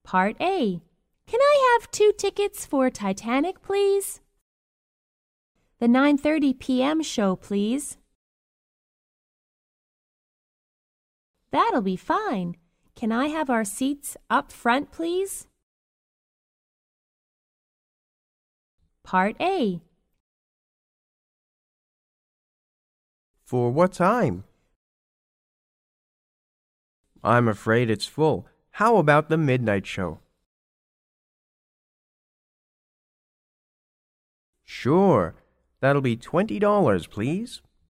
Part A. Can I have 2 tickets for Titanic, please? The 9:30 p.m. show, please. That'll be fine. Can I have our seats up front, please? Part A. For what time? I'm afraid it's full. How about the midnight show? Sure. That'll be $20, please.